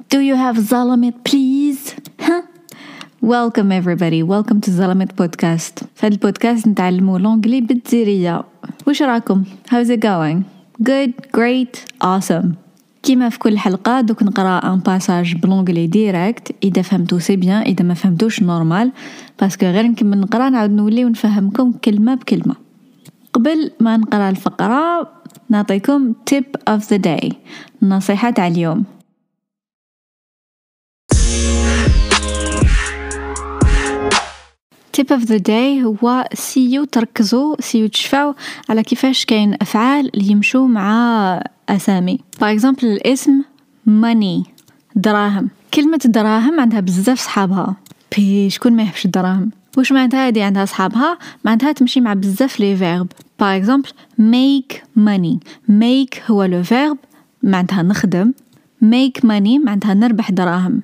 Do you have Zalamit please? Huh? Welcome everybody, welcome to Zalamit podcast. في هذا البودكاست نتعلموا لونجلي بالجزائرية. وش راكم؟ How's it going? Good, great, awesome. كيما في كل حلقة دوك نقرأ ان باساج بلونجلي ديريكت. إذا فهمتو سي بيان، إذا ما فهمتوش نورمال، باسكو غير نكمل نقرأ نعاود نولي ونفهمكم كلمة بكلمة. قبل ما نقرأ الفقرة نعطيكم tip of the day، نصيحة على اليوم. tip of the day هو سيو تشفعوا على كيفاش كاين أفعال اللي يمشوا مع أسامي. for example الاسم money، دراهم. كلمة دراهم عندها بزاف صحابها، شكون ما يحبش الدراهم؟ وش معناتها هذه عندها صحابها؟ معناتها تمشي مع بزاف لي verb. for example make money، make هو le verb معناتها نخدم، make money معناتها نربح دراهم.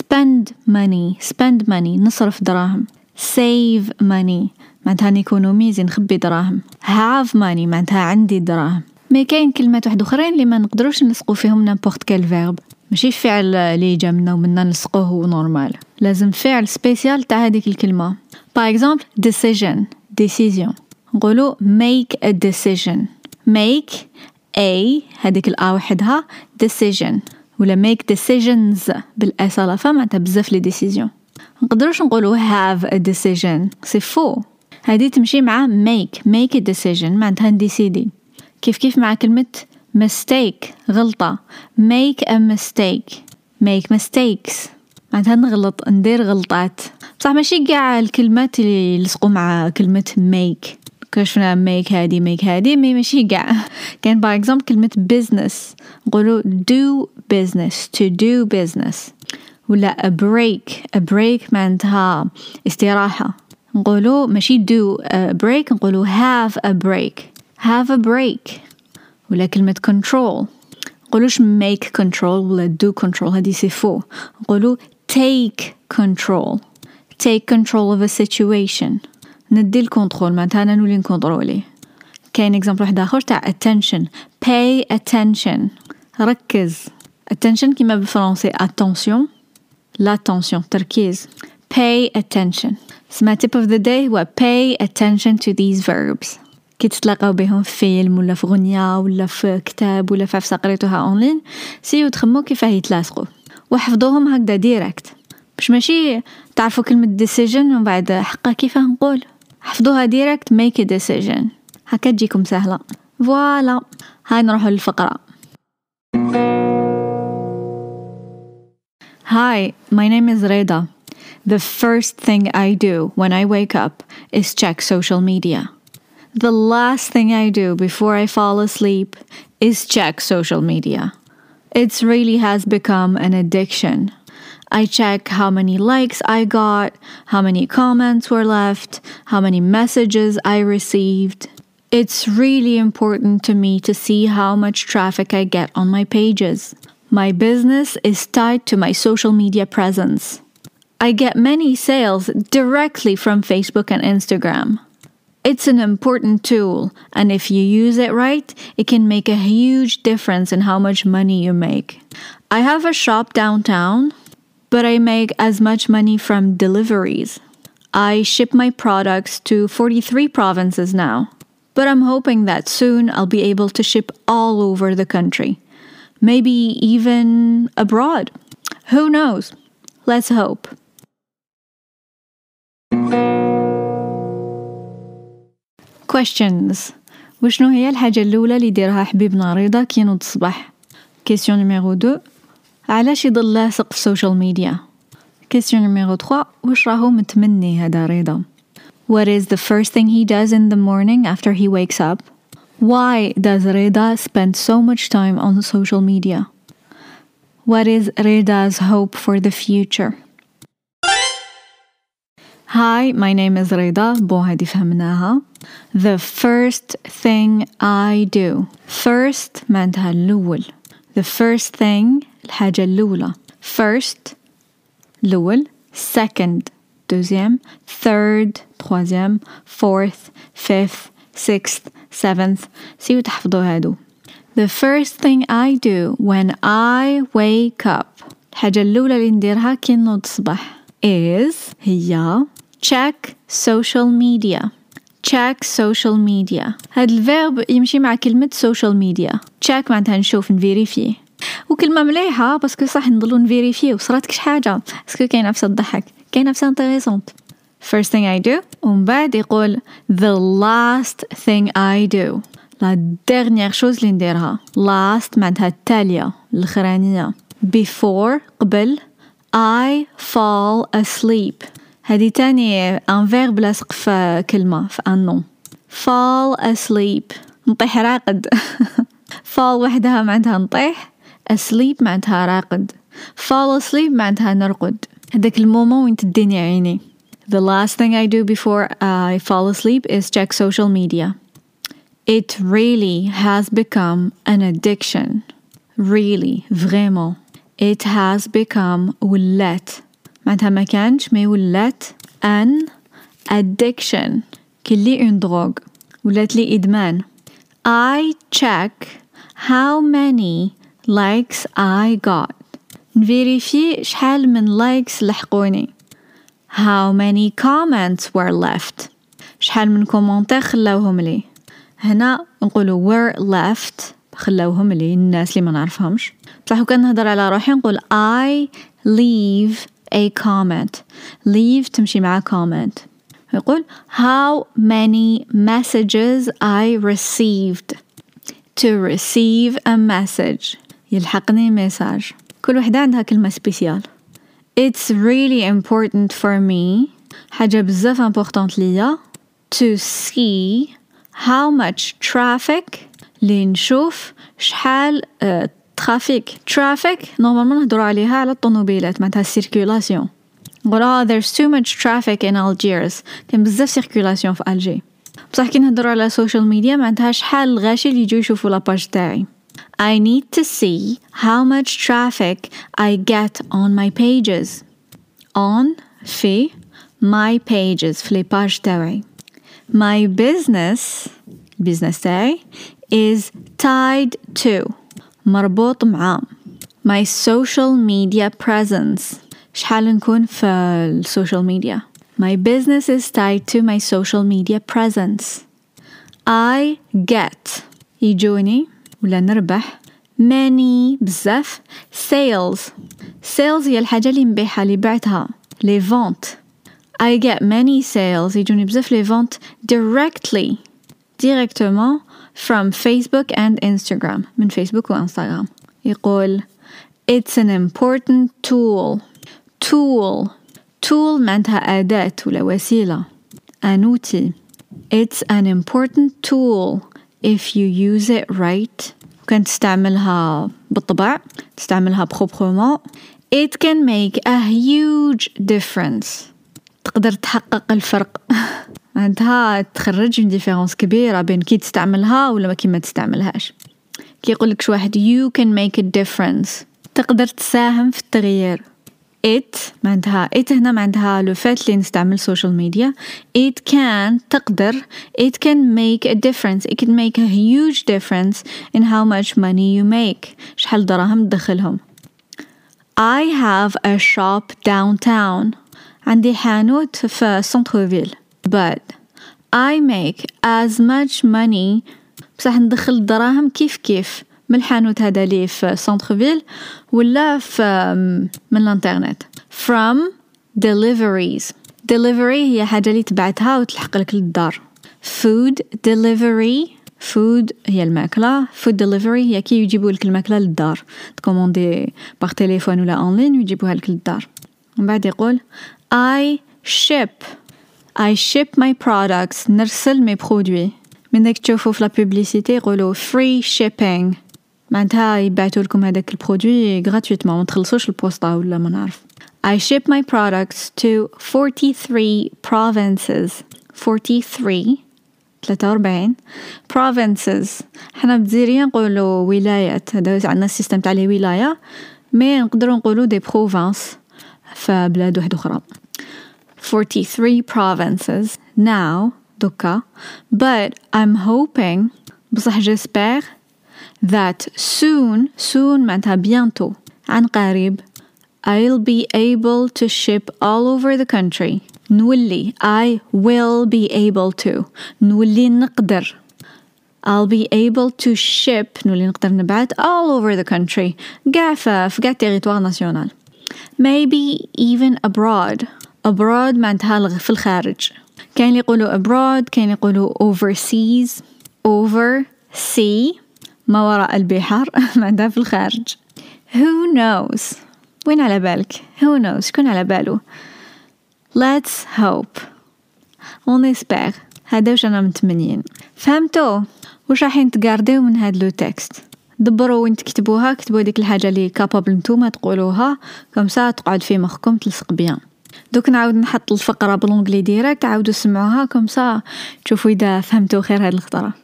spend money نصرف دراهم. save money معناتها نيكونوميزي نخبي دراهم. have money معناتها عندي دراهم. ما كاين كلمات واحد اخرين اللي ما نقدروش نلصقوا فيهم n'importe quel verb، ماشي فعل اللي جا منا ومنا نلصقوه نورمال، لازم فعل سبيسيال تاع هذيك الكلمه. par exemple decision نقولوا make a decision. make a هذيك الآ وحدها decision، ولا make decisions بالأصالة معناتها بزاف لي decision. نقدروش نقولوا have a decision، c'est faux. هذه تمشي مع make a decision معناتها نديسيدي. كيف مع كلمة mistake غلطة، make a mistake، make mistakes معناتها نغلط، ندير غلطات. بصح ماشي قاع الكلمات اللي يلصقوا مع كلمة make. كشفنا make هذه ماشي قاع. كان by example كلمة business نقولوا do business، to do business. ولا a break معناتها استراحة، نقولوا ماشي do a break، نقولوا have a break. ولا كلمة control نقولوش make control ولا do control، هذه سي فو. نقولوا take control of a situation، ندي الكنترول معناتها أنا نولي نكنترولي. كاين example واحد آخر تاع attention، pay attention ركز. attention كيما بالفرنسي attention، l'attention تركيز. pay attention. سما tip of the day هو pay attention to these verbs. كي تتلاقاو بهم في فيلم ولا في غنية ولا في كتاب ولا في عفسة قريتوها اونلاين، سيو تخمو كيفاه يتلاصقوا وحفظوهم هكذا ديريكت، باش ماشي تعرفوا كلمة decision ومن بعد حقا كيفاه نقول، حفظوها ديريكت make a decision، هكا تجيكم سهلة. فوالا، هاي نروحوا للفقرة. Hi, my name is Reda. The first thing I do when I wake up is check social media. The last thing I do before I fall asleep is check social media. It really has become an addiction. I check how many likes I got, how many comments were left, how many messages I received. It's really important to me to see how much traffic I get on my pages. My business is tied to my social media presence. I get many sales directly from Facebook and Instagram. It's an important tool, and if you use it right, it can make a huge difference in how much money you make. I have a shop downtown, but I make as much money from deliveries. I ship my products to 43 provinces now, but I'm hoping that soon I'll be able to ship all over the country. Maybe even abroad. Who knows? Let's hope. Questions. وشنو هي الحاجة الأولى اللي يديرها حبيبنا رضا كي ينوض الصباح؟ Question numéro 2. علاش يضل لاصق في السوشيال ميديا؟ Question numéro 3. وش راهو متمني هذا رضا؟ What is the first thing he does in the morning after he wakes up? Why does Reda spend so much time on social media? What is Reda's hope for the future? Hi, my name is Reda. هذه فهمناها. The first thing I do. First معناتها الأول. The first thing الحاجة الأولى. First الأول. Second deuxième. Third troisième. Fourth, fifth, sixth, seventh. سيو تحفظوا هادو. The first thing I do when I wake up. الحاجة الأولى اللي نديرها كي نوض الصباح هي check social media. check social media. هاد الفيرب يمشي مع كلمة social media. check معناتها نشوف نفيريفي، وكلمة مليحة باسكو صح نضلو نفيريفي وصرات كش حاجة باسكو كاين نفس الضحك، كاين نفس intéressant. first thing I do، ومن بعد يقول the last thing I do. la dernière chose اللي نديرها. last معناتها التالية الأخرانية. before قبل. I fall asleep. هذه تاني un verbe لاصق في كلمة في un nom. fall asleep نطيح راقد. fall وحدها معناتها نطيح، asleep معناتها راقد. fall asleep معناتها نرقد، هذاك المومون وين تديني عيني. The last thing I do before I fall asleep is check social media. It really has become an addiction. Really, vraiment. It has become ولات معناتها ما كانش ما ولات an addiction كلي une drogue ولات لي إدمان. I check how many likes I got. نفيريفي شحال من likes لحقوني. How many comments were left. شحال من كومنتير خلاوهم لي. هنا نقولوا were left خلاوهم لي الناس اللي ما نعرفهمش. بصح وكان نهضر على روحي نقول I leave a comment. leave تمشي مع comment. يقول how many messages I received. to receive a message يلحقني ميساج. كل وحدة عندها كلمة سبيسيال. It's really important for me حاجة بزاف important ليا to see how much traffic اللي نشوف شحال traffic نورمالمون نهضروا عليها على الطوموبيلات معناتها circulation. نقول there's too much traffic in Algiers كاين بزاف circulation في ألجي. بصح كي نهضروا على social media معناتها شحال الغاشي اللي يجوا يشوفوا لاباج تاعي. I need to see how much traffic I get on my pages. on في my pages في لي باج تاعي. My business تاعي is tied to مربوط مع my social media presence. شحال نكون في السوشيال ميديا. My business is tied to my social media presence. I get يجوني ولا نربح many بزاف sales هي الحاجة اللي نبيعها اللي بعتها les ventes. I get many sales يجوني بزاف les ventes directement from Facebook and Instagram من فيسبوك وإنستغرام. يقول it's an important tool معناتها أداة ولا وسيلة an outil. It's an important tool if you use it right. كنت تستعملها بالطبع تستعملها proprement. It can make a huge difference. تقدر تحقق الفرق معناتها تخرج من ديفيرونس كبيرة بين كي تستعملها ولا كي ما تستعملهاش. كي يقولك شو واحد you can make a difference تقدر تساهم في التغيير. it معناتها هنا معناتها لو فات اللي نستعمل سوشيال ميديا. it can تقدر it can make a difference. It can make a huge difference in how much money you make. شحال دراهم تدخلهم. I have a shop downtown. عندي حانوت في سنتروفيل. But I make as much money بصح ندخل الدراهم كيف من الحانوت هذا لي في سنتروفيل ولا من الانترنت. From deliveries. delivery هي حاجة اللي تبعتها وتلحق لك للدار. food delivery food هي الماكلة. food delivery هي كي يجيبوا لك الماكلة للدار تكوموندي باغ تليفون ولا اونلاين ويجيبوها لك للدار. ومن بعد يقول I ship my products نرسل مي برودوي. من داك تشوفوا في لا بوبليسيتي يقولوا free shipping معناتها يبعثوا لكم هذاك البرودوي gratuitement ما تخلصوش البوسطة ولا ما نعرف. I ship my products to 43 provinces. 43 provinces. حنا بزيريا نقولوا ولايات. هذا عندنا السيستم تاع لي ولاية مي نقدروا نقولوا دي بروفانس في بلاد واحدة أخرى. 43 provinces now دوكا. But I'm hoping بصح j'espère that soon معناتها bientôt عن قريب I'll be able to ship all over the country. نولي I will be able to. نولي نقدر. I'll be able to ship. نولي نقدر نبعت all over the country. قاع في قاع territoire national. Maybe even abroad. Abroad معناتها في الخارج. كاين يقولوا abroad، كاين يقولوا overseas. Oversea ما وراء البحر معناتها في الخارج. Who knows؟ وين على بالك؟ Who knows؟ شكون على باله؟ Let's hope. On espère. هذا وش أنا متمنين. فهمتوا؟ وش راح تقارديو من هاد لو تكست؟ دبروا وين تكتبوها، كتبوا ديك الحاجة اللي capable نتوما تقولوها كم ساعة تقعد في مخكم تلصق بيان. دوك نعاود نحط الفقرة بالانجلي ديريكت، عاودوا سمعوها كم ساعة تشوفوا إذا فهمتوا خير هاد الخطرة.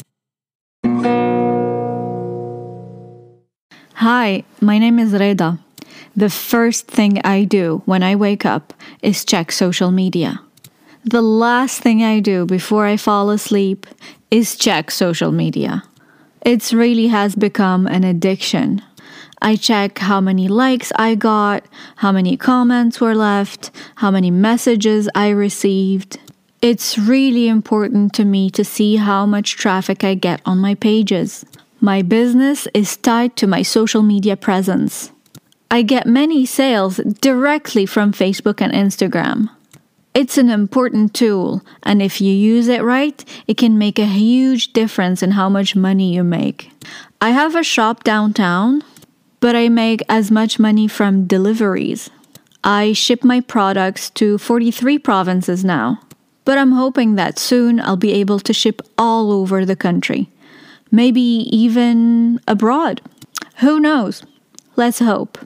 Hi, my name is Reda. The first thing I do when I wake up is check social media. The last thing I do before I fall asleep is check social media. It really has become an addiction. I check how many likes I got, how many comments were left, how many messages I received. It's really important to me to see how much traffic I get on my pages. My business is tied to my social media presence. I get many sales directly from Facebook and Instagram. It's an important tool, and if you use it right, it can make a huge difference in how much money you make. I have a shop downtown, but I make as much money from deliveries. I ship my products to 43 provinces now, but I'm hoping that soon I'll be able to ship all over the country. Maybe even abroad. Who knows? Let's hope.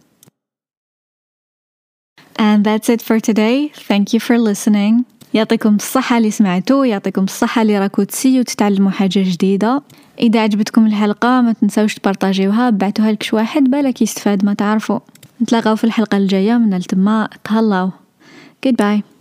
And that's it for today. Thank you for listening. يعطيكم الصحة اللي سمعتوا، يعطيكم الصحة اللي راكو تسيو تتعلموا حاجة جديدة. إذا عجبتكم الحلقة ما تنسوش تبارطاجيوها، بعتوها لكش واحد بالك يستفاد ما تعرفوا. نتلاقاو في الحلقة الجاية من التما. تهلاو. Goodbye.